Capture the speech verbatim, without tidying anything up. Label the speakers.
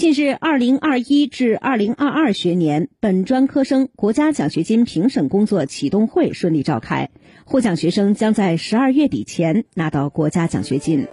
Speaker 1: 近日，二零二一至二零二二学年本专科生国家奖学金评审工作启动会顺利召开，获奖学生将在十二月底前拿到国家奖学金。